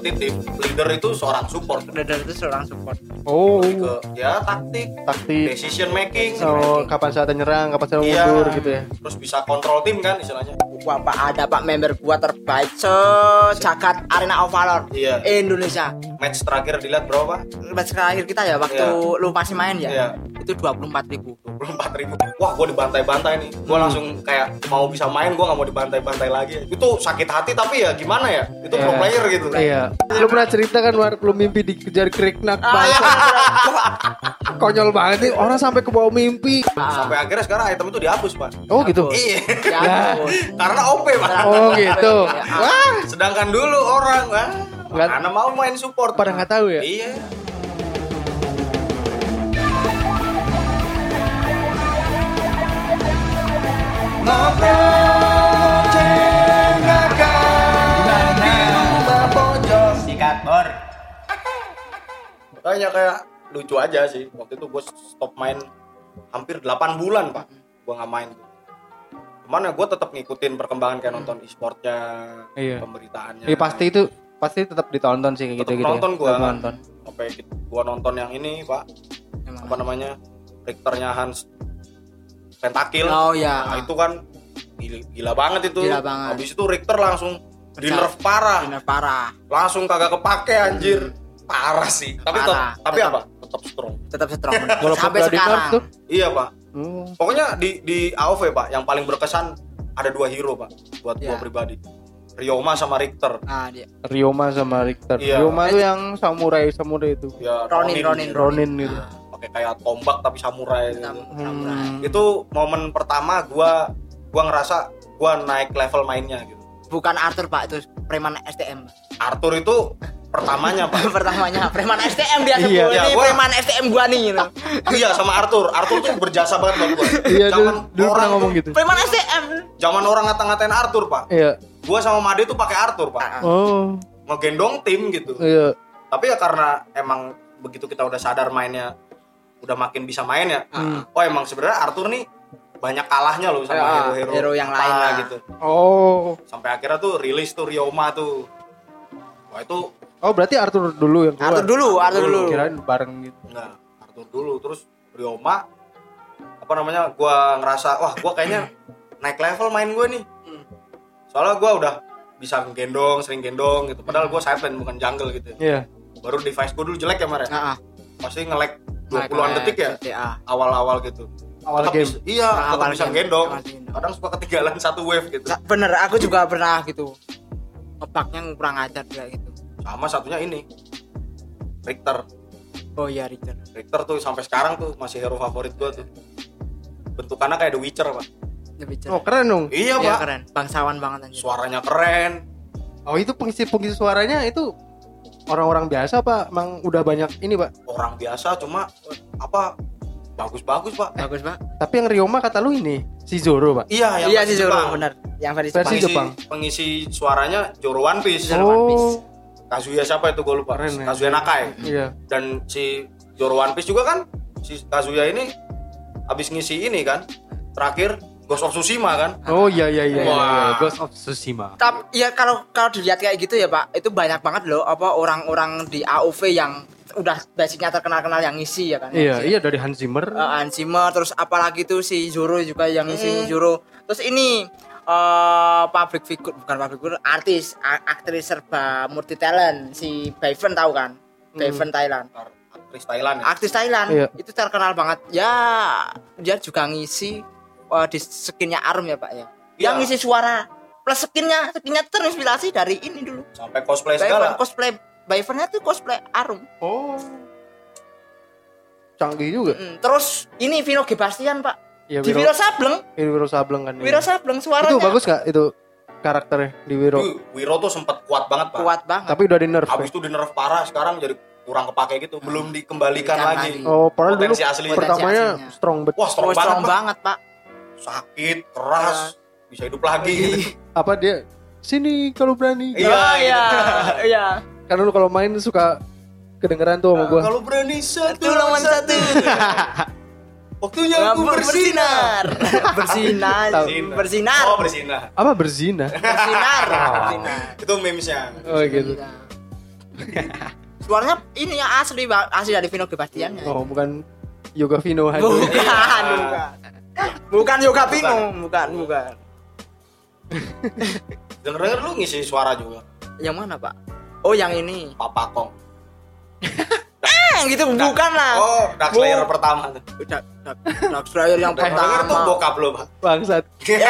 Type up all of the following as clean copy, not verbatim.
kompetitif, leader itu seorang support. Oh. Lebih ke ya taktik, decision making. Oh, kapan saatnya nyerang, kapan saatnya mundur gitu ya. Terus bisa kontrol tim kan istilahnya. Wah, Pak, ada Pak member gua terbaik sejagat Arena of Valor Iya. Indonesia. Match terakhir dilihat berapa? Match terakhir kita ya waktu lu masih main ya. Iya. Itu 24.000. 24.000. Wah, gue dibantai-bantai nih. Gue langsung kayak mau bisa main, gue nggak mau dibantai-bantai lagi. Itu sakit hati tapi ya gimana ya? Itu pro player gitu. Iya. Lu pernah cerita kan War, lu mimpi dikejar Kriknak bangsa. Konyol banget nih, orang sampai ke bawah mimpi. Sampai akhirnya sekarang item itu dihapus, Pak. Oh gitu. Iya. Ya, Karena OP, Pak. Oh gitu. Wah, Sedangkan dulu orang karena mau main support. pada nggak tahu ya. Iya. sikat bor. Makanya kayak lucu aja sih. Waktu itu gue stop main hampir 8 bulan, Pak. Gue nggak main. Cuman ya gue tetap ngikutin perkembangan kayak nonton e-sportnya, pemberitaannya. Iya pasti tetap ditonton sih kayak gitu-gitu. Nonton gue. Nonton. Sampai gue nonton yang ini, Pak. Apa namanya? Richternya Hans Pentakil. Oh ya. Nah, itu kan gila banget itu. Gila banget. Habis itu Richter langsung di nerf parah. Langsung kagak kepake anjir. Parah sih. Tapi apa? Tetap strong. Sampai sekarang. Tuh. Iya, Pak. Pokoknya di AoV, Pak, yang paling berkesan ada 2 hero, Pak, buat gua pribadi. Ryoma sama Richter. Dia. Ryoma sama Richter. Iya. Ryoma tuh yang samurai itu. Ya, Ronin gitu. Pakai kayak tombak tapi samurai. Itu momen pertama gua ngerasa gua naik level mainnya gitu. Bukan Arthur, Pak, itu preman STM. Arthur itu pertamanya, Pak. Pertamanya preman STM dia sebut. Iya, Ini preman STM gua nih gitu. Iya, sama Arthur tuh berjasa banget buat gua. Iya, dulu pernah ngomong gitu. Preman STM. Zaman orang ngata-ngatain Arthur, Pak. Iya. Gua sama Made tuh pakai Arthur, Pak. Oh. Ngegendong tim gitu. Iya. Tapi ya karena emang begitu kita udah sadar mainnya udah makin bisa main ya. Oh, emang sebenarnya Arthur nih banyak kalahnya loh sama hero-hero yang lain gitu. Oh. Sampai akhirnya tuh rilis tuh Ryoma tuh. Wah, itu berarti Arthur dulu yang keluar. Arthur dulu. Kirain bareng gitu. Enggak, Arthur dulu terus Ryoma gua ngerasa wah gua kayaknya naik level main gua nih. Soalnya gua udah bisa sering gendong gitu. Padahal gua side lane bukan jungle gitu. Iya. Baru device gua dulu jelek ya, Mar ya. Pasti nge-lag 20-an detik ya. Awal-awal gitu. Awal game. Tetap bisa gendong. Kadang suka ketinggalan satu wave gitu. Bener, aku juga pernah gitu. Ngebugnya kurang ajar juga gitu. Sama satunya ini Richter. Oh iya, Richter. Richter tuh sampai sekarang tuh masih hero favorit gua tuh. Bentukannya kayak The Witcher, Pak. Oh, keren dong. Iya, Pak. Keren. Bangsawan banget anjir. Suaranya keren. Oh, itu pengisi suaranya itu orang-orang biasa, Pak? Emang udah banyak ini, Pak? Orang biasa cuma bagus-bagus, Pak. Bagus, Pak. Tapi yang Ryoma kata lu ini si Zoro, Pak. Iya si Zoro, benar. Yang versi Jepang. Pengisi suaranya Zoro One Piece. Oh. Kazuya siapa itu gue lupa. Keren, Kazuya Nakai. Iya. Dan si Zoro One Piece juga kan si Kazuya ini habis ngisi ini kan. Terakhir Ghost of Tsushima kan. Oh iya. Wah. Ghost of Tsushima. Tapi ya kalau dilihat kayak gitu ya, Pak, itu banyak banget loh orang-orang di AoV yang udah basicnya terkenal yang ngisi ya kan. Iya dari Hans Zimmer. Hans Zimmer, terus apalagi tuh si Zoro juga yang ngisi Zoro. Terus ini aktris serba multi talent si Bayven tahu kan? Bayven Thailand. Aktris Thailand. Iya. Itu terkenal banget. Ya, dia juga ngisi di skinnya Arum ya, Pak ya. Yang ngisi suara plus skinnya terinspirasi dari ini dulu. Sampai cosplay segala. Bayvennya tuh cosplay Arum. Oh. Canggih juga. Terus ini Vino G. Bastian, Pak. Ya, di Wiro Sableng. Wiro Sableng kan. Wiro Sableng suaranya. Itu bagus gak itu karakternya di Wiro? Wiro tuh sempat kuat banget, Pak. Kuat banget. Tapi udah di nerf. Habis itu di nerf parah, sekarang jadi kurang kepake gitu. Belum dikembalikan lagi. Oh, padahal dulu asli pertamanya strong banget. Wah, strong banget, Pak. Sakit, keras, bisa hidup lagi gitu. Apa dia? Sini kalau berani. Iya. Karena lu kalau main suka kedengeran tuh sama gua. Kalau berani satu lawan satu. Waktunya aku bersinar. Bersinar. Oh, bersinar. Apa berzina? Bersinar. Itu memesnya. Oh gitu. Suaranya ini ya asli dari Vino Gebastian. Oh, bukan Yoga Vino aja. Bukan Yoga Vino, bukan. Denger lu ngisi suara juga. Yang mana, Pak? Oh, yang ini. Papa Kong. Gitu bukan lah. Oh, Dark Slayer pertama tuh. Dark Slayer yang Denger tuh pertama. bokap lu, Pak. Bangsat.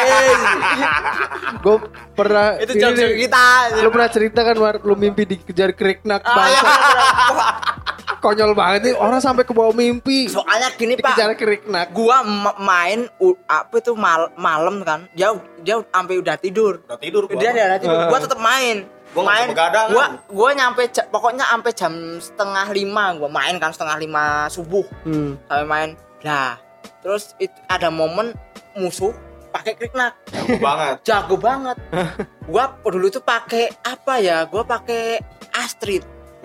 Gue pernah Itu ini jam nih, kita. lu pernah cerita kan lu mimpi dikejar kriknak bangsat. Konyol banget nih orang sampai ke bawah mimpi. Soalnya gini, Pak. Dikejar kriknak. Gua main apa itu malam kan. Dia sampai udah tidur. Udah tidur gua. Dia udah tidur. Gua tetap main. Gua main begadang. Gua nyampe pokoknya sampai jam 4:30 gua main kan 4:30 subuh. Sampai main. Nah, terus ada momen musuh pakai kriknak. Jago banget. Gua dulu tuh pakai apa ya? Gua pakai Astrid.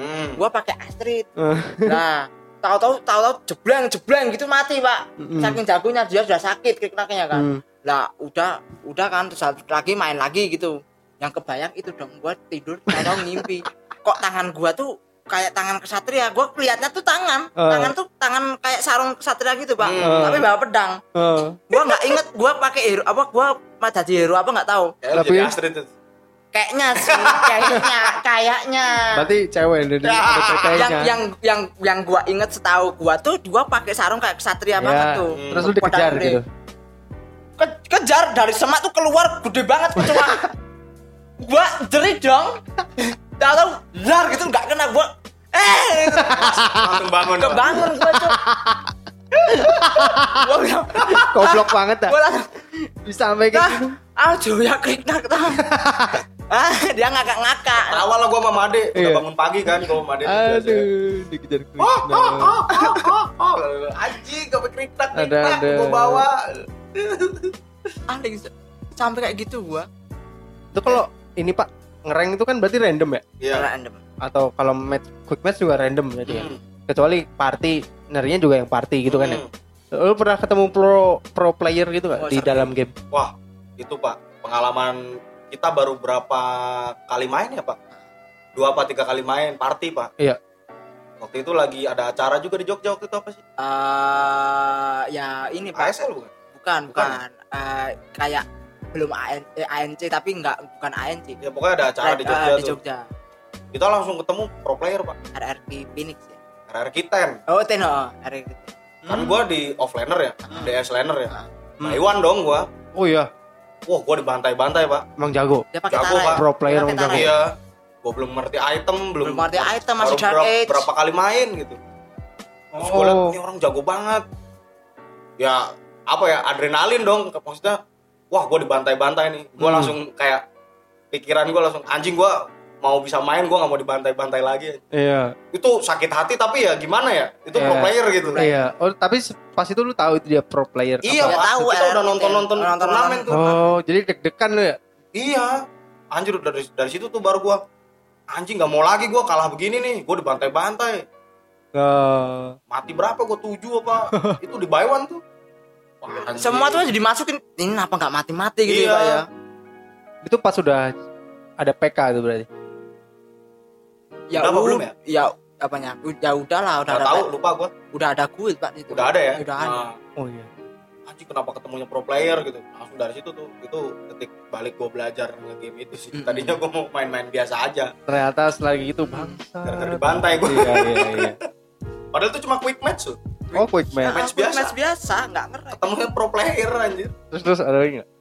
Nah, tahu-tahu jebleng gitu mati, Pak. Saking jagonya dia sudah sakit kriknaknya kan. Lah, udah kan terus lagi main lagi gitu. Yang kebayang itu dong, gua tidur tahu ngimpi. Kok tangan gua tuh kayak tangan kesatria, gua kelihatnya tuh tangan tuh tangan kayak sarung kesatria gitu, Pak. Tapi bawa pedang. Gua nggak inget gua pakai hero apa, gua jadi hero apa nggak tahu. Tapi Astrid itu. Kayaknya sih, kayaknya. Berarti cewek dari yang gua inget setahu gua tuh gua pakai sarung kayak kesatria banget tuh. Terus lu dikejar gitu. Kejar dari semak tuh keluar gede banget kecoa. Gua jerit dong. Tahu lar gitu enggak kena gua. Langsung bangun. Kebangun gua tuh. Goblok banget dah. Gua langsung Bisa sampai kayak gitu. Aduh ya kriknak tau. Dia ngakak-ngakak. Awal lah gua sama Made udah bangun pagi kan, gua sama Made. Aduh, dikejar kriknak. Anjing, gak kriknak Ada. gua bawa. Aneh sampai kayak gitu gua. Itu kalau ini Pak, ngerank itu kan berarti random ya? Iya. Random. Atau kalau quick match juga random berarti ya? Kecuali party, narinya juga yang party gitu kan ya? Lu pernah ketemu pro player gitu gak di dalam game? Wah, itu Pak, pengalaman kita baru berapa kali main ya Pak? 2 apa 3 kali main party Pak. Iya. Waktu itu lagi ada acara juga di Jogja, waktu itu apa sih? Ya ini Pak. ASL bukan? Bukan. Kayak belum ANC tapi bukan ANC. Ya pokoknya ada acara di Jogja di tuh. Jogja. Kita langsung ketemu pro player Pak. RRQ Phoenix ya. RRQ 10. Oh, RRQ. Kan gua di offlaner ya, DS laner ya. Taiwan dong gua. Oh iya, Wah, gua dibantai-bantai Pak. emang jago. Dia pakai Jago, tara. Pak. Pro player Dia pakai emang jago. tara. Iya. Gua belum ngerti item, Belum ngerti item, masih baru Dark Age. berapa kali main gitu. Terus gua liat ini orang jago banget. Ya, apa ya, adrenalin dong. Maksudnya, wah gua dibantai-bantai nih. Gua langsung kayak pikiran gua langsung anjing, gua mau bisa main, gua nggak mau dibantai-bantai lagi. Iya. Itu sakit hati tapi ya gimana ya? Itu pro player gitu. Iya. Oh, tapi pas itu lu tahu itu dia pro player. Iya, Nggak Pak. tahu, Kita udah RRQ nonton turnamen tuh. Oh, jadi deg-degan lu ya? Iya. Anjir, dari situ tuh baru gua anjing nggak mau lagi gua kalah begini nih. Gua dibantai-bantai. Mati berapa gua 7 apa? Itu di Baiwan tuh. Wah, anjing. Semua tuh jadi masukin. Ini kenapa enggak mati-mati gitu Iya. ya, Pak ya? Itu pas sudah ada PK itu berarti. Ya Udah apa belum ya? Ya apanya? Ya udahlah, udah Nggak ada. tahu, lupa gua. Udah ada guild Pak itu. Udah ada ya? Udah ada. Nah, Oh iya. anjing kenapa ketemunya pro player gitu. Langsung dari situ tuh itu ketik balik gua belajar nge-game itu sih. Tadinya gua mau main-main biasa aja. Ternyata setelah gitu bangsa. Gara-gara dibantai gua. Iya. Padahal itu cuma quick match tuh. Oh, quick match. Match biasa. Match biasa, enggak ngerti. Ketemunya pro player anjir. Terus ada lagi enggak?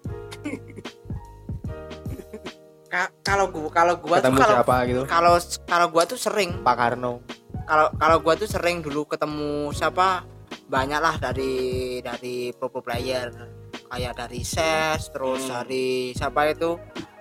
Kalau gua Ketemu tuh siapa gitu? kalau gua tuh sering Pak Karno. kalau gua tuh sering dulu ketemu siapa banyak lah dari pro player kayak dari SES terus dari siapa itu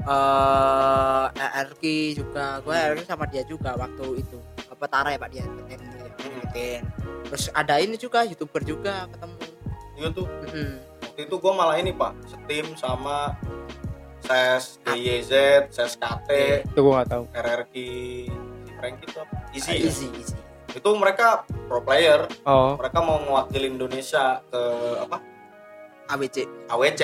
RRQ juga. Gua RRQ sama dia juga waktu itu apa Tara ya Pak dia bikin. Terus ada ini juga YouTuber juga ketemu. Iya tuh. Waktu itu gua malah ini Pak, setim sama SES DYZ, SES KT, Itu gua enggak tahu. RRQ, Frank itu apa? Easy. Easy. Itu mereka pro player. Oh. Mereka mau mewakili Indonesia ke apa? AWC AWC.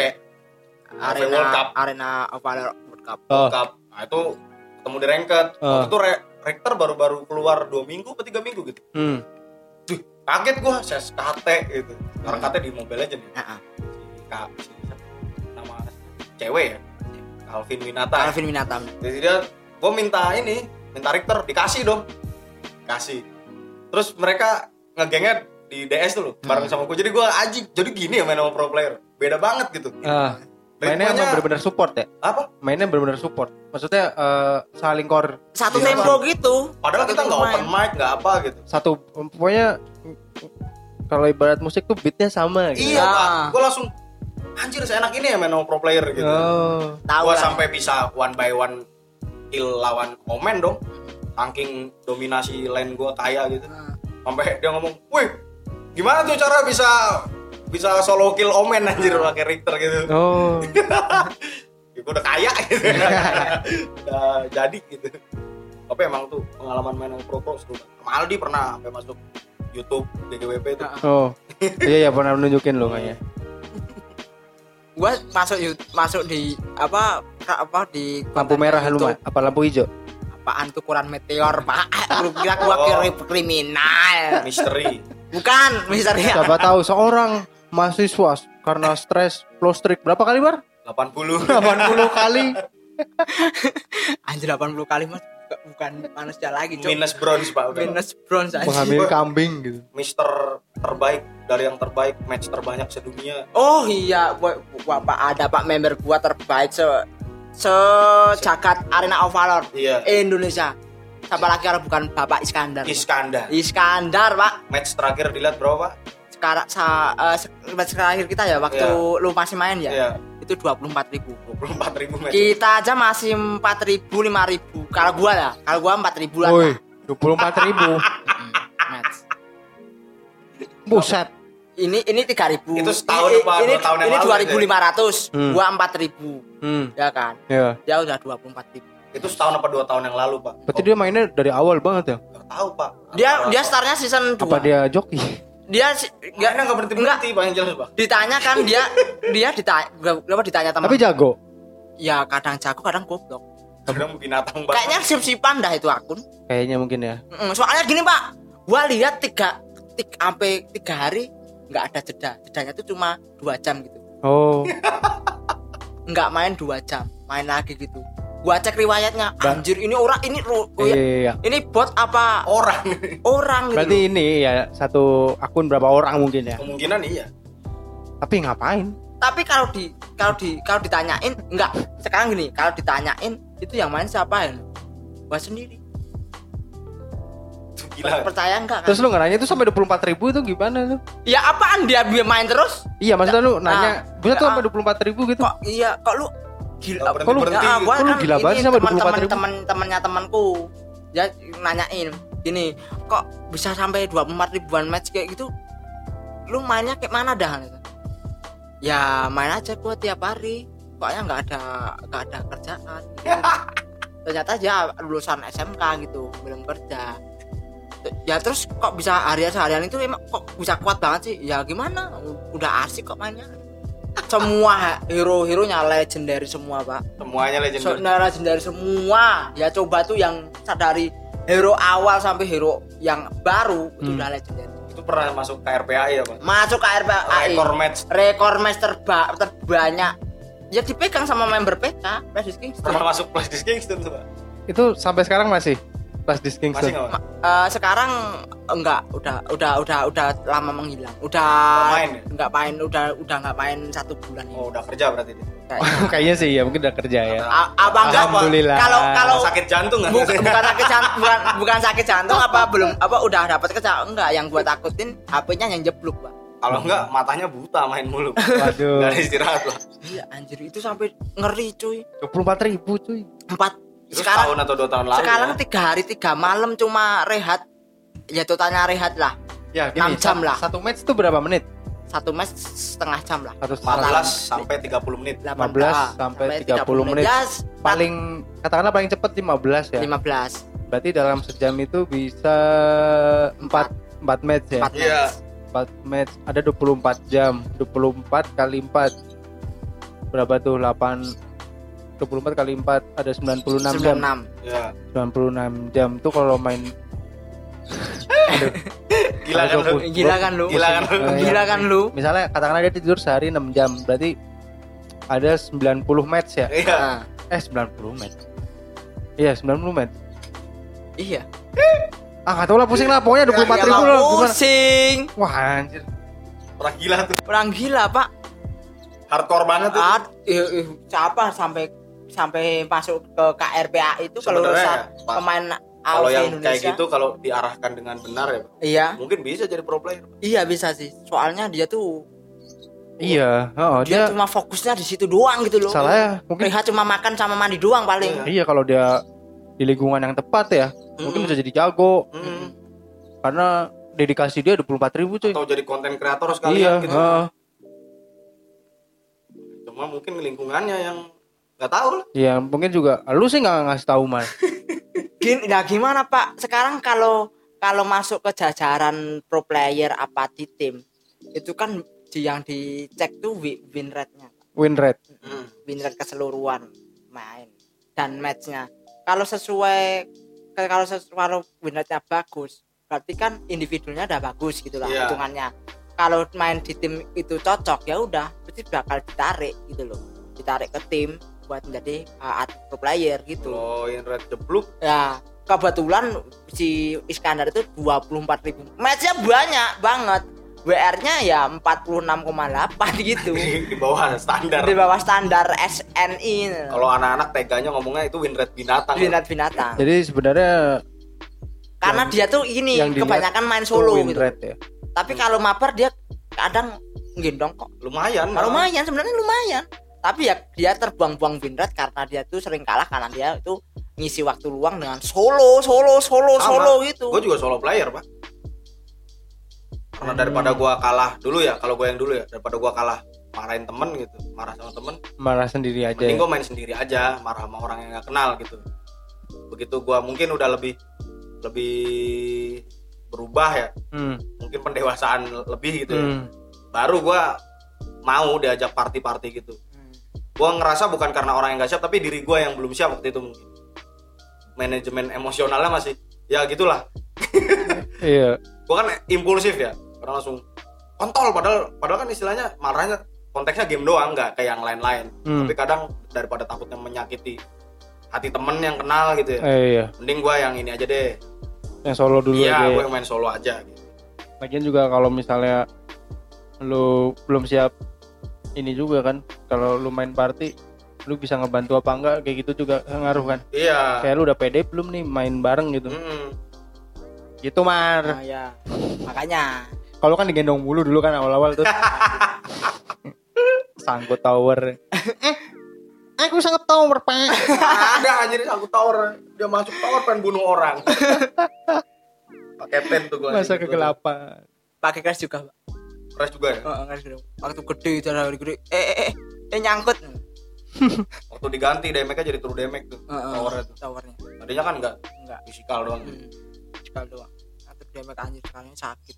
World Cup. Arena of Valor World Cup. Oh. Cup. Nah, itu ketemu di ranked. Waktu itu Richter baru keluar 2 minggu atau 3 minggu gitu. Duh, kaget gua CSKT gitu. Sekarang KT di Mobile Legends. Heeh. Si nama cewek ya. Calvin Winata. Calvin Winata. Jadi dia gua minta Richter, dikasih dong. Kasih. Terus mereka ngegengnya di DS tuh loh, bareng sama gue. Jadi gue anjing, jadi gini ya main sama pro player. Beda banget gitu. Mainnya emang benar-benar support ya? Apa? Mainnya benar-benar support. Maksudnya saling core satu tempo gitu. Padahal kita nggak open mic, nggak apa gitu. Satu, pokoknya kalau ibarat musik tuh beatnya sama gitu. Iya Pak, gue langsung anjir seenak ini ya main sama pro player gitu. Gue sampai bisa one by one kill lawan Omen dong. Saking dominasi lane gue kaya gitu. Sampai dia ngomong, "Wih, gimana tuh cara bisa solo kill Omen anjir pakai Richter gitu." Ya, gue udah kaya gitu. Udah jadi gitu. Tapi emang tuh pengalaman main sama pro seru. Maldi pernah sampai masuk YouTube GGWP tuh. Iya pernah nunjukin lo kayaknya. Gua masuk di apa di lampu merah lu apa lampu hijau? Apaan tuh ukuran meteor, Pak? Lu kira gua kriminal. Misteri. Bukan, misteri. Siapa tahu seorang mahasiswa karena stres flow streak berapa kali, Bar? 80 kali. Anjir 80 kali Mas. Bukan manusia lagi, Cok. Minus bronze, Pak. Minus bronze aja. Menghamili kambing gitu. Mister terbaik dari yang terbaik, match terbanyak sedunia. Oh iya, gua Pak, ada Pak member gua terbaik sejagat Arena of Valor Indonesia. Siapa lagi kalau bukan Bapak Iskandar, Pak. Match terakhir dilihat berapa, Pak? Sekarang match terakhir kita ya waktu lu masih main ya. Itu 24.000 match. Kita aja masih 4.000 5.000. Kalau gua 4.000 lah. Woi, 24.000. Match. Buset. Ini 3.000. Itu setahun apa 2 tahun yang lalu? 2.500. Gua 4.000. Ya kan? Iya. Dia udah 24.000. Itu setahun apa 2 tahun yang lalu, Pak? Berarti dia mainnya dari awal banget ya? Gak tahu, Pak. Dia startnya season 2. Apa dia joki? Dia enggak berhenti, Pak, yang jelas, Pak. Ditanya kan dia ditanya teman. Tapi jago. Ya kadang jago, kadang goblok. Kadang binatang banget. Kayaknya sip-sipan dah itu akun. Kayaknya mungkin ya. Soalnya gini, Pak. Gua lihat 3 hari enggak ada jeda. Jedanya itu cuma 2 jam gitu. Oh. Enggak main 2 jam, main lagi gitu. Gua cek riwayatnya, anjir ini orang ini iya. Ini bot apa orang gitu. Berarti ini ya satu akun berapa orang mungkin ya? Kemungkinan iya. Tapi ngapain? Tapi kalau ditanyain enggak, sekarang gini, kalau ditanyain itu yang main siapa ya? Gua sendiri. Gila. Percaya enggak kan? Terus lu nanya itu sampai 24.000 itu gimana tuh? Ya apaan dia main terus? Iya, maksudnya lu nanya, bisa tuh sampai 24.000 gitu. Kok lu gila, kok lu berhenti? Kok lu gila banget sama 24.000? Teman-temannya temanku ya nanyain gini, kok bisa sampai 24 ribuan match kayak gitu? Lu mainnya kayak mana dah? Ya main aja gua tiap hari, pokoknya nggak ada kerjaan gitu. Ternyata dia lulusan SMK gitu, belum kerja. Ya terus kok bisa harian itu emang kok bisa kuat banget sih? Ya gimana, udah asik kok mainnya. Semua hero-heronya legendary semua, Pak. Semuanya legendary. Legendary semua. Ya coba tuh yang dari hero awal sampai hero yang baru itu udah legendary. Itu pernah masuk ke RPAI ya, Pak? Masuk ke RPAI. Rekor match terbanyak. Ya dipegang sama member PK, Flash Kingston. Pernah masuk Flash Kingston tuh, Pak. Itu sampai sekarang masih Flash Kingston. Masih enggak? Sekarang enggak, udah lama menghilang. Udah main ya? Enggak main, udah enggak main 1 bulan ini. Oh, udah kerja berarti dia. Kayaknya sih ya, mungkin udah kerja ya. Apa enggak? Alhamdulillah. Kalau sakit jantung enggak? Bukan sakit jantung, bukan sakit jantung udah dapat kerja enggak, yang gua takutin HP-nya yang jeblok, Pak. Kalau enggak matanya buta main mulu. Waduh. Enggak istirahat lah. Iya, anjir itu sampai ngeri, cuy. 24.000 cuy. 4 Itu sekarang tahun atau 2 tahun lalu. Sekarang 3 hari 3 malam cuma rehat. Ya totalnya rehat lah. Ya, gini, 6 jam lah. Satu match itu berapa menit? 1 match setengah jam lah. 14 sampai 30 menit. 15 sampai 30 menit. Yes, Paling katakanlah paling cepat 15 ya. 15. Berarti dalam sejam itu bisa 4 match ya. 4 Iya. match. 4 match ada 24 jam. 24 kali 4 berapa tuh? 24 kali 4 ada 96 jam. 96. Ya. 96 jam tuh kalau main Gila kan lu? Gila kan lu? Gila kan lu? Gila kan lu? Misalnya katakanlah dia tidur sehari 6 jam, berarti ada 90 match ya? Iya. 90 match. Iya, 90 match. Iya. Gak tau lah, pusing lah, pokoknya 24 ribu lah. Pusing. Wah anjir. Orang gila tuh. Orang gila, Pak. Hardcore banget tuh. Siapa sampai masuk ke KRPA itu kalau Sebenarnya ya, pemain kalau AOV yang Indonesia. kayak gitu kalau diarahkan dengan benar ya, Pak, Iya. mungkin bisa jadi pro player. Iya bisa sih. Soalnya dia tuh Iya, dia cuma fokusnya di situ doang gitu loh. salah ya, mungkin. Rehat cuma makan sama mandi doang paling. Iya, kalau dia di lingkungan yang tepat ya, mungkin bisa jadi jago. Karena dedikasi dia 24 ribu cuy. Atau jadi konten kreator sekalian Iya, gitu. Cuma mungkin lingkungannya yang nggak tahu lah. Iya, mungkin juga lu sih nggak ngasih tahu Mas. Gimana Pak? Sekarang kalau masuk ke jajaran pro player apa di tim, itu kan yang dicek tuh win rate-nya. Win rate. Win rate keseluruhan main dan match-nya. Kalau win rate-nya bagus, berarti kan individunya udah bagus gitu lah hitungannya. Kalau main di tim itu cocok ya udah, berarti bakal ditarik gitu loh. Ditarik ke tim buat menjadi pro player gitu. Kalau win rate jeblok ya kebetulan si Iskandar itu 24.000 matchnya banyak banget, WR-nya ya 46,8 gitu. di bawah standar. Di bawah standar SNI. Kalau anak-anak teganya ngomongnya itu win rate binatang. Binatang. Jadi sebenarnya karena dia tuh ini kebanyakan main solo gitu. Rate, ya. Tapi kalau mabar dia kadang gendong kok. Lumayan. Lumayan sebenarnya lumayan. Tapi ya dia terbuang-buang win rate karena dia tuh sering kalah karena dia itu ngisi waktu luang dengan solo gitu. Gue juga solo player, Pak. Karena daripada gue kalah dulu ya, kalau gue yang dulu ya, daripada gue kalah marahin temen gitu, marah sama temen, marah sendiri aja. mending gue main sendiri aja, marah sama orang yang gak kenal gitu. Begitu gue mungkin udah lebih berubah ya, mungkin pendewasaan lebih gitu ya, baru gue mau diajak party gitu. Gue ngerasa bukan karena orang yang gak siap, tapi diri gue yang belum siap waktu itu mungkin. Manajemen emosionalnya masih ya gitulah. Iya. Gue kan impulsif ya, karena langsung kontol, padahal kan istilahnya marahnya konteksnya game doang, nggak kayak yang lain-lain. Tapi kadang daripada takutnya menyakiti hati temen yang kenal gitu ya, Iya. mending gue yang ini aja deh, yang solo dulu iya, aja. gue yang main solo aja gitu. Lagian juga kalau misalnya lu belum siap ini juga kan, kalau lu main party lu bisa ngebantu apa enggak, kayak gitu juga ngaruh kan. Iya. Kayak lu udah pede belum nih main bareng gitu. Gitu Mar. Nah, ya. Makanya Kalau kan digendong mulu dulu kan awal-awal tuh. Sangkut tower. Aku sangkut tower, Pak. Ada anjir sangkut tower. Dia masuk tower pengen bunuh orang. Pakai pen tuh gue. Masa kegelapan. pakai crash juga, Pak. Crash juga ya? Crash juga. Waktu gede itu ada gede. Nyangkut. Waktu diganti damage-nya jadi true damage tuh. Towernya. Tadinya kan enggak fisikal doang. Fisikal doang. Atau damage anjir sekalian sakit.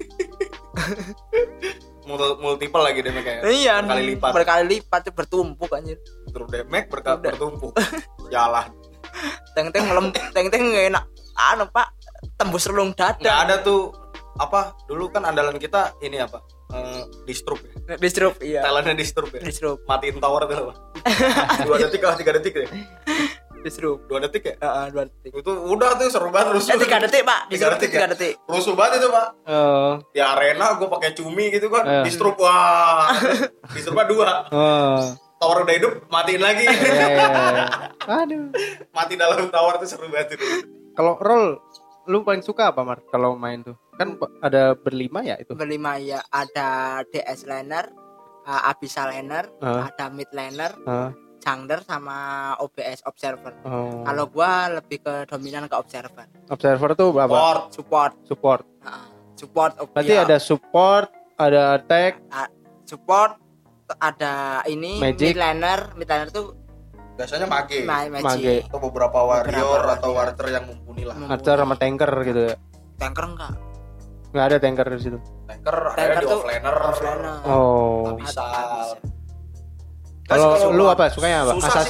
Multiple lagi damage-nya. Iya, berkali lipat tuh bertumpuk anjir. True damage bertumpuk. Jalan. Teng-teng enggak enak. Pak, tembus relung dada. Enggak ada tuh apa? Dulu kan andalan kita ini apa? Disturb ya. Disturb, iya. Talentnya disturb ya. Disturb. Matiin tower tuh. 2 detik atau 3 detik deh. Disturb. 2 detik ya? 2 detik. Itu udah tuh seru banget rusuh. 3 detik, Pak. 3 detik. Rusuh banget itu, Pak. Di arena gue pakai cumi gitu kan. Disturb. Wah. Disturbnya 2. Tower udah hidup, matiin lagi. Aduh. Mati dalam tower tuh seru banget itu. Kalau roll lu paling suka apa, Mar? Kalau main tuh kan ada berlima ya itu. Berlima ya, ada DS laner, Abyssal laner, ada mid laner, jungler sama OBS observer. Kalau gua lebih ke dominan ke observer. Observer tuh apa? Support. Support. Berarti ya. ada support, ada attack, support, ada ini Magic. mid laner tuh biasanya mage. Atau beberapa warrior atau warrior yang mumpuni lah. Archer sama tanker gitu ya. Tanker enggak ada tanker di situ. Tanker ada di offlaner. Oh. Abyssal. Kalau lu apa? Sukanya apa? Susah Assassin. sih, Pak.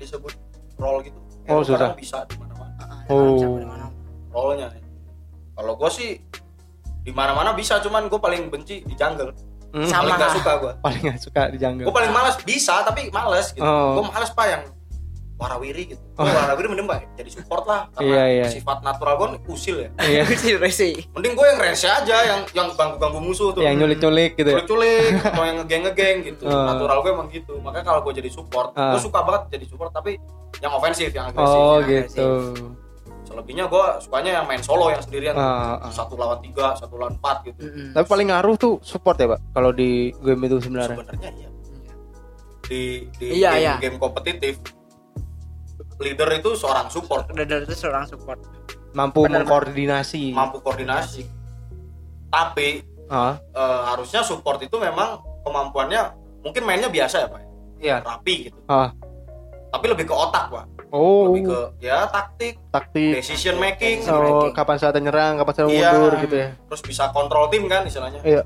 disebut role gitu. Oh, susah. Bisa di mana-mana. Oh. Role-nya. Kalau gue sih di mana-mana bisa, cuman gue paling benci di jungle. Sama. Paling gak suka gue. Paling gak suka di jungle. Gue paling malas bisa tapi males gitu. Oh. Gue males pak yang warawiri gitu. Gue warawiri mending pak jadi support lah Iya. karena sifat natural gue usil ya. Iya. Resi. Mending gue yang rese aja yang ganggu musuh tuh. Yang nyulik-nyulik gitu ya. Culik atau yang ngegeng gitu. Oh. Natural gue emang gitu. Makanya kalau gue jadi support, gue suka banget jadi support tapi yang ofensif, yang agresif. Oh yang gitu. Selebihnya gue sukanya yang main solo yang sendirian. Ah. 1 lawan 3, 1 lawan 4 gitu. Tapi paling ngaruh tuh support ya Pak kalau di game itu sebenarnya. Sebenarnya iya. Di Iya. game kompetitif leader itu seorang support, Leader itu seorang support. Mampu Benar. mengkoordinasi. mampu koordinasi. Tapi harusnya support itu memang kemampuannya mungkin mainnya biasa ya Pak. Iya. Rapi gitu. Ah. Tapi lebih ke otak Pak. Oh. Lebih ke ya taktik, Taktik. decision making. Oh, kapan saatnya nyerang, kapan saatnya Iya. mundur gitu ya. Terus bisa kontrol tim kan istilahnya. Iya.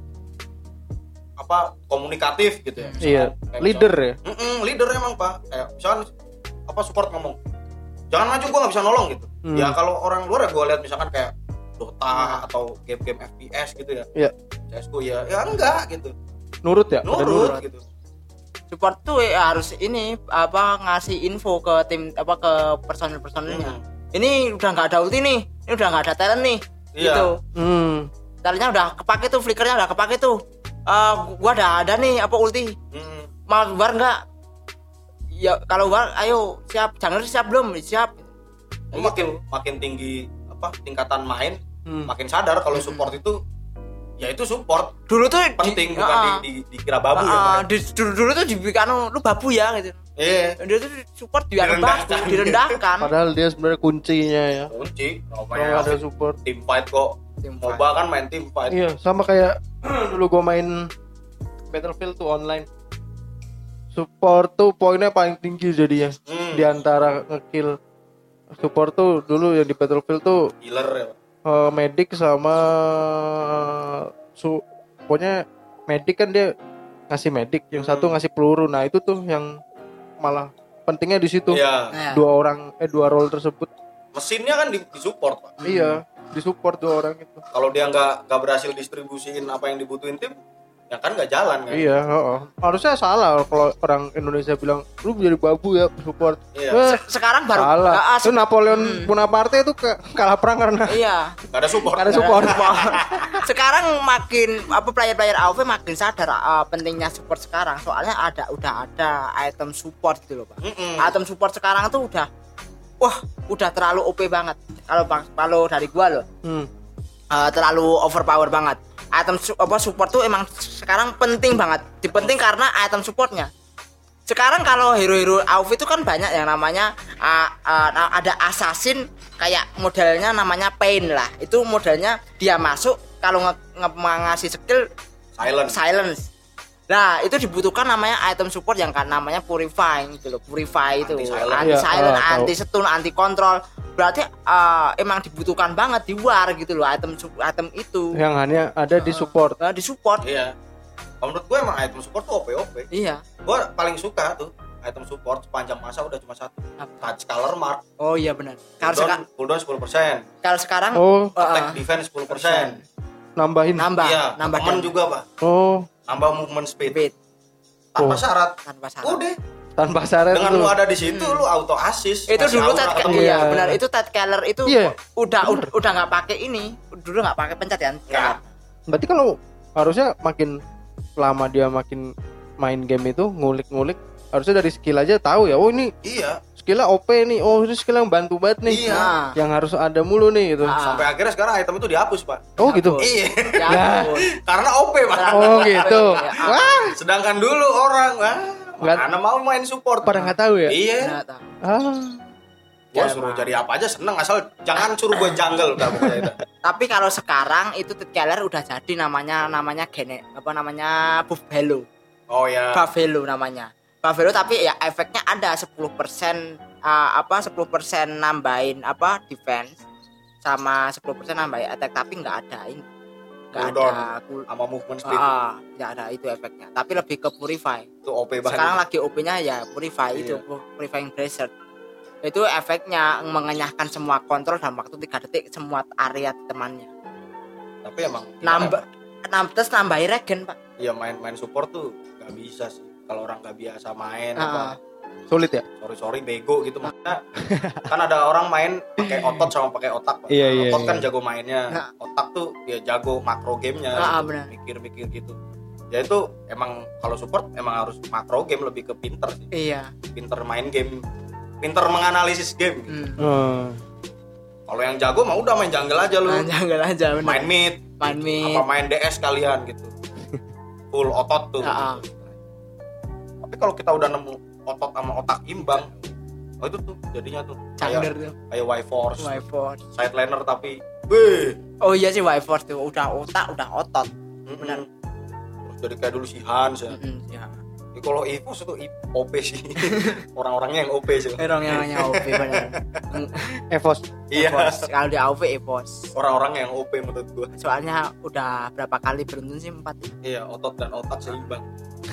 Apa komunikatif gitu ya. Iya. Kayak Leader ya. leader emang Pak. Kayak misalkan apa support ngomong, jangan maju gue nggak bisa nolong gitu. Ya kalau orang luar ya gue lihat misalkan kayak Dota atau game-game FPS gitu ya. Iya. CS:GO ya enggak gitu. Nurut ya? Nurut gitu. Support tuh harus ini apa ngasih info ke tim apa ke personil-personilnya. Ini udah nggak ada ulti nih, ini udah nggak ada talent nih. Iya. Gitu. Talentnya udah kepake tuh, flickernya udah kepake tuh. Gua udah ada nih apa ulti. Mau war nggak? Ya kalau war, ayo siap. Jangan siap belum? Siap. Makin tinggi apa tingkatan main, makin sadar kalau support itu ya itu support Dulu tuh penting bukan dikira babu ya. Dulu tuh dibikin lu babu ya gitu. Iya. Dia tuh support direndahkan. Padahal dia sebenarnya kuncinya ya. Kunci, Kalau ada support. Team fight kok. MOBA kan main team fight. Iya, sama kayak dulu gua main Battlefield tuh online. Support tuh poinnya paling tinggi jadinya di antara ngekill. Support tuh dulu yang di Battlefield tuh Healer ya. medic sama pokoknya medic kan dia ngasih medic, yang satu ngasih peluru. Nah, itu tuh yang malah pentingnya di situ. Iya. Dua role tersebut. Mesinnya kan di support, Pak. Iya, di support dua orang itu. Kalau dia nggak berhasil distribusiin apa yang dibutuhin tim, ya kan nggak jalan kan. Iya, harusnya salah kalau orang Indonesia bilang lu jadi babu ya support. Iya. Sekarang baru salah. Itu Napoleon Bonaparte itu kalah perang karena iya. Nggak ada support. Nggak ada support. Sekarang makin player-player AoV makin sadar pentingnya support sekarang. Soalnya udah ada item support gitu loh, Pak. Item support sekarang tuh udah terlalu OP banget. Kalau dari gua loh. Terlalu overpower banget. Item support tuh emang sekarang penting banget. Dipenting karena item supportnya. Sekarang kalau hero-hero AoV itu kan banyak yang namanya ada assassin kayak modelnya namanya Pain lah. Itu modelnya dia masuk kalau ngasih skill silence. Nah, itu dibutuhkan namanya item support yang kan namanya purifying gitu loh. Purify itu anti silent, anti stun, anti control. Berarti emang dibutuhkan banget di war gitu loh item itu. Yang hanya ada di support. Di support. Iya. Menurut gue emang item support tuh OP. Iya. Gue paling suka tuh item support sepanjang masa udah cuma satu. Touch color mark. Oh iya benar. Cooldown 10%. Kalau sekarang attack defense 10%. Nambah. Iya, nambah juga, Pak. Nambah movement speed. Tanpa syarat. Udah. Tanpa syarat. Dengan lu ada di situ lu auto assist. Itu dulu iya benar, itu Ted Keller itu udah enggak pakai ini. Dulu enggak pakai pencet kan? Ya. Berarti kalau harusnya makin lama dia makin main game itu ngulik-ngulik, harusnya dari skill aja tahu ya. Oh ini skillnya OP nih. Oh ini skill yang bantu banget nih. Iya. Yang harus ada mulu nih gitu. Sampai akhirnya sekarang item itu dihapus, Pak. Oh gitu. Iya. Ya. Karena OP, Pak. Oh gitu. Wah, sedangkan dulu orang karena mau main support. Pada nggak tahu ya. Iya. Gua suruh jadi apa aja seneng, asal jangan suruh gua jungle udah pokoknya itu. Tapi kalau sekarang itu Ted Keller udah jadi namanya Buffalo. Oh ya. Buffalo namanya. Buffalo tapi ya efeknya ada 10% 10% nambahin defense sama 10% nambahin attack tapi nggak cooldown sama movement speed. Enggak ada itu efeknya. Tapi lebih ke purify. Itu OP banget. Sekarang lagi OP-nya ya purify itu, purifying bracer. Itu efeknya mengenyahkan semua kontrol dalam waktu 3 detik semua area temannya. Tapi emang terus nambahin regen, Pak. Iya, main support tuh nggak bisa sih kalau orang nggak biasa main sulit ya. Sorry bego gitu makanya. Kan ada orang main pakai otot sama pakai otak, Pak. Iya, Otot kan jago mainnya, otak tuh dia jago makro gamenya, mikir-mikir gitu. Ya itu emang kalau support emang harus makro game, lebih ke pinter sih. Iya. Pinter main game, pinter menganalisis game gitu. Kalau yang jago mah udah main jungle aja lu. Jungle aja bener. Main mid. Apa main DS kalian gitu. Full otot tuh. Tapi kalau kita udah nemu otot sama otak imbang, itu tuh jadinya tuh kayak Y-Force. Side laner tapi oh iya sih Y-Force tuh udah otak, udah otot. Benar. Terus jadi kayak dulu si Hans ya. Kalau EVOS itu OP sih. Orang-orangnya yang OP sih. Orang-orangnya OP benar. EVOS. Iya. Kalau di AoV EVOS. Orang-orang yang OP menurut gua. Soalnya udah berapa kali beruntun sih 4 ya. Iya, otot dan otak seimbang.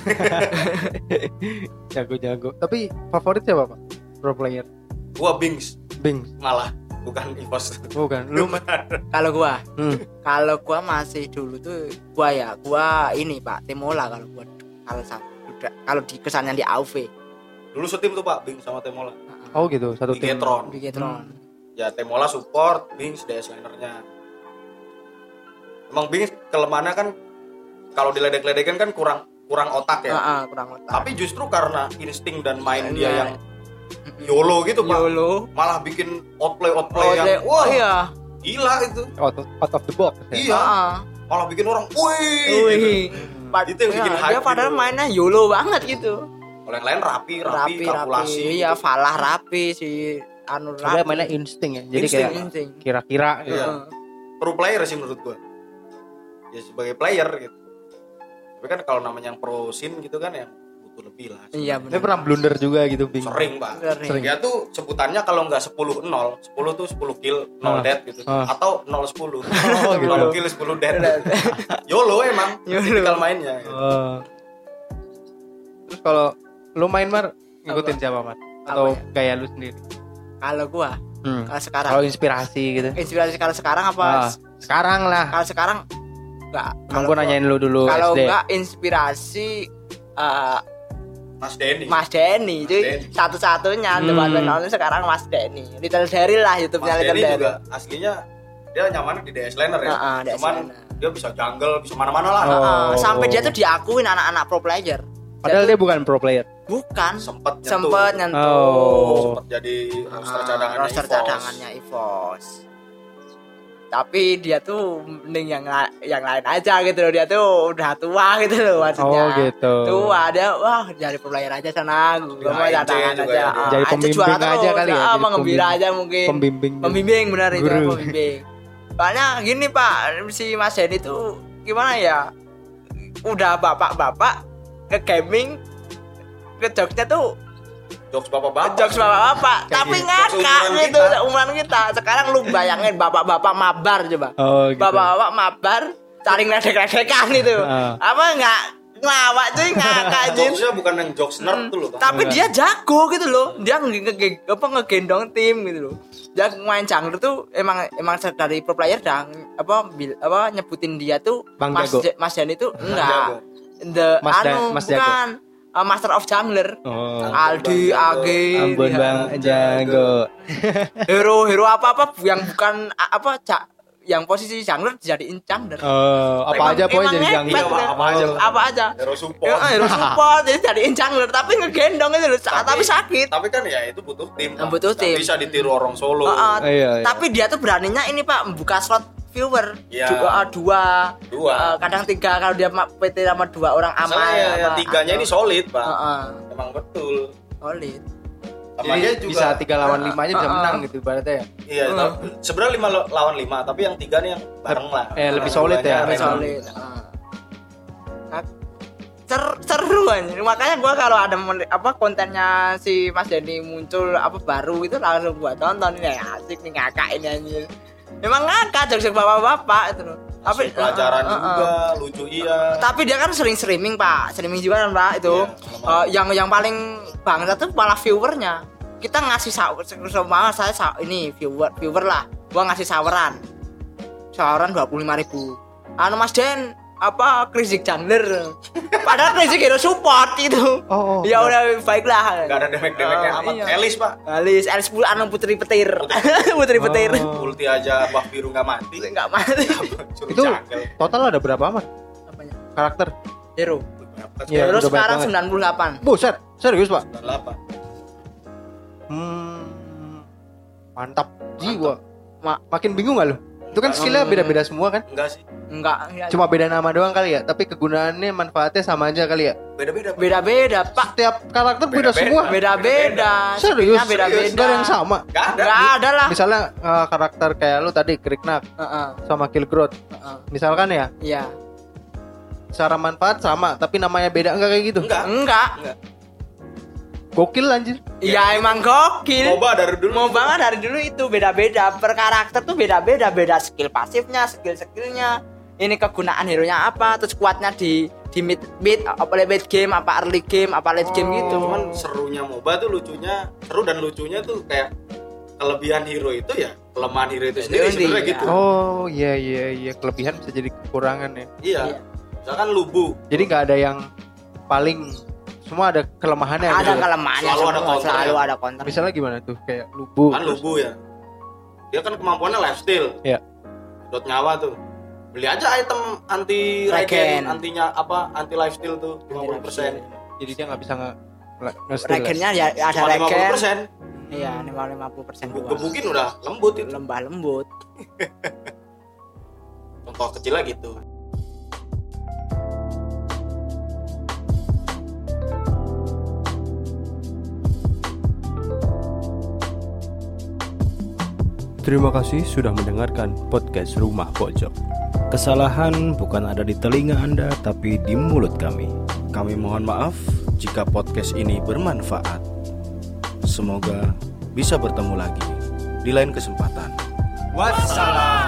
Jago. Tapi favorit siapa, Pak? Pro player. Gua Bings malah, bukan EVOS. Bukan. Lu kalau gua masih dulu tuh gua ini Pak, Temola kalau di kesannya di AoV. Dulu setim tuh Pak, Bings sama Temola. Oh gitu, satu tim. Bigetron. Ya Temola support, Bings DS linernya. Emang Bings kelemahannya kan kalau diledek-ledekin kan kurang otak ya. Kurang otak. Tapi justru karena insting dan main dia yang YOLO gitu Pak. Malah bikin outplay yang iya. Gila itu. Out of the box. Iya. Malah bikin orang wih. Itu yang bikin hype. Dia padahal mainnya YOLO banget gitu. Kalau yang lain rapi kalkulasi. Iya, Falah rapi si Anur rapi. Dia mainnya insting ya. Jadi kayak kira-kira gitu. Iya. Pro player sih menurut gua. Ya sebagai player gitu. Tapi kan kalau namanya yang pro scene gitu kan yang butuh lebih lah. Iya benar. Dia pernah blunder juga gitu, Bing. Sering, Pak. Sering. Dia tuh sebutannya kalau enggak 10-0, 10 tuh 10 kill, 0 death gitu. Atau 0-10. 0 kill, 10 death. YOLO emang. Tipikal mainnya. Gitu. Terus kalau lu main Mar, ngikutin siapa, Mar? Atau kayak lu sendiri? Kalau gua, kalau sekarang. Kalau inspirasi gitu. Inspirasi kalau sekarang apa? Sekarang lah. Kalau sekarang enggak. Kalau gua nanyain lu dulu kalau SD. enggak inspirasi Mas Denny itu satu-satunya teman-teman sekarang Mas Denny. Little Daryl lah YouTube-nya Little Daryl. Juga aslinya dia nyaman di DS laner ya. Cuman dia bisa jungle, bisa mana-mana lah. Sampai dia tuh diakuin anak-anak pro player. Padahal dia bukan pro player. Bukan. Sempet nyentuh. Sempet jadi roster cadangannya EVOS. Tapi dia tuh mending yang lain aja gitu loh. Dia tuh udah tua gitu loh maksudnya. Oh gitu. Tua dia jadi pro player aja sana. Gua mau cadangan aja. Jadi pembimbing aja kali ya. Menggembira aja mungkin. Pembimbing benar itu pembimbing. Soalnya gini Pak, si Mas Denny tuh gimana ya? Udah bapak-bapak ke gaming, ke jokesnya tuh jokes bapak-bapak tapi ngakak gitu umuran kita. Sekarang lu bayangin bapak-bapak mabar coba. Gitu. Bapak-bapak mabar cari ngeledek-ledekan itu. Apa enggak ngelawak cuy, ngakak cuy. Jokesnya bukan yang jokes nerd tuh loh. Tapi dia jago gitu loh. Dia ngegendong tim gitu loh. Dia main jungler tuh emang dari pro player dah nyebutin dia tuh Mas Denny tuh enggak. Bukan Master of Jungler. Aldi, Age, Ampun Bang Jago. Hero apa yang bukan yang posisi jungler dijadiin jungler. Apa aja pokoknya jadi jungler. Apa aja. Hero support jadi jadiin jungler tapi ngegendong itu tapi sakit. Tapi kan ya itu butuh tim. Butuh tim. Bisa ditiru orang solo. Tapi dia tuh beraninya ini Pak buka slot viewer dua kadang 3 kalau dia PT sama 2 orang aman ya, 3-nya ini solid Pak. Emang betul solid. Sama dia juga bisa 3 lawan 5 aja bisa menang gitu ibaratnya ya. Iya, sebenarnya 5 lawan 5 tapi yang 3 nih yang bareng lah. Lebih solid ya. Lebih solid. Seru aja. Makanya gua kalau ada kontennya si Mas Denny muncul baru itu langsung gua tonton. Ini asik nih ngakak ini anjir. Memang ngakak jokes bapak-bapak itu loh. Tapi pelajaran juga, lucu iya. Tapi dia kan sering streaming Pak, streaming juga kan Pak itu. Yang paling bangsa tuh malah viewernya. Kita ngasih sama saya ini viewer lah. Gua ngasih saweran 25.000. Anu Mas Den apa Crazy Chandler. Padahal Crazy Hero support itu. Ya udah baiklah. Enggak ada demek-demeknya amat. Iya. Elis, Pak. Elis 10 anu putri petir. Putri petir. Ulti aja buff biru enggak mati. Enggak mati. Itu total ada berapa amat Apanya? karakter? Hero. Ya, Terus udah sekarang banyak 98. Buset, serius Pak? 98. Mantap. Jiwa. Ma- Makin bingung gak lu? Itu kan skillnya beda-beda semua kan? Enggak sih. Enggak. Cuma beda nama doang kali ya, tapi kegunaannya manfaatnya sama aja kali ya. Beda-beda, Pak. Setiap karakter beda semua. Beda-beda. Serius? Beda-beda. Gak ada yang sama. Enggak ada lah. Misalnya karakter kayak lu tadi Kriknak sama Killgrowth. Misalkan ya, Iya. secara manfaat sama, tapi namanya beda enggak kayak gitu? Enggak. Gokil anjir. Ya emang gokil. MOBA dari dulu itu beda-beda. Per karakter tuh beda-beda, beda skill pasifnya, skillnya. Ini kegunaan hero-nya apa, terus kuatnya di mid apa late game, apa early game, apa late game gitu. Cuman serunya MOBA tuh seru dan lucunya tuh kayak kelebihan hero itu ya kelemahan hero itu sendiri sebenarnya gitu. Oh iya, kelebihan bisa jadi kekurangan ya. Iya. Misalkan Lubu. Jadi nggak ada yang paling, semua ada kelemahannya. Ada gitu. kelemahannya, selalu ada counter. Misalnya gimana tuh kayak Lubu. Kan Lubu ya. Dia kan kemampuannya lifesteal. Iya. Dot nyawa tuh. Beli aja item anti regen, anti lifesteal tuh 50%. Jadi dia nggak bisa regennya ya ada Cuma regen. 50%. Iya, 50% doang. Gebukin udah lembut itu. Lembut. Contoh kecilnya gitu. Terima kasih sudah mendengarkan podcast Rumah Pojok. Kesalahan bukan ada di telinga Anda, tapi di mulut kami. Kami mohon maaf jika podcast ini bermanfaat. Semoga bisa bertemu lagi di lain kesempatan. Wassalam.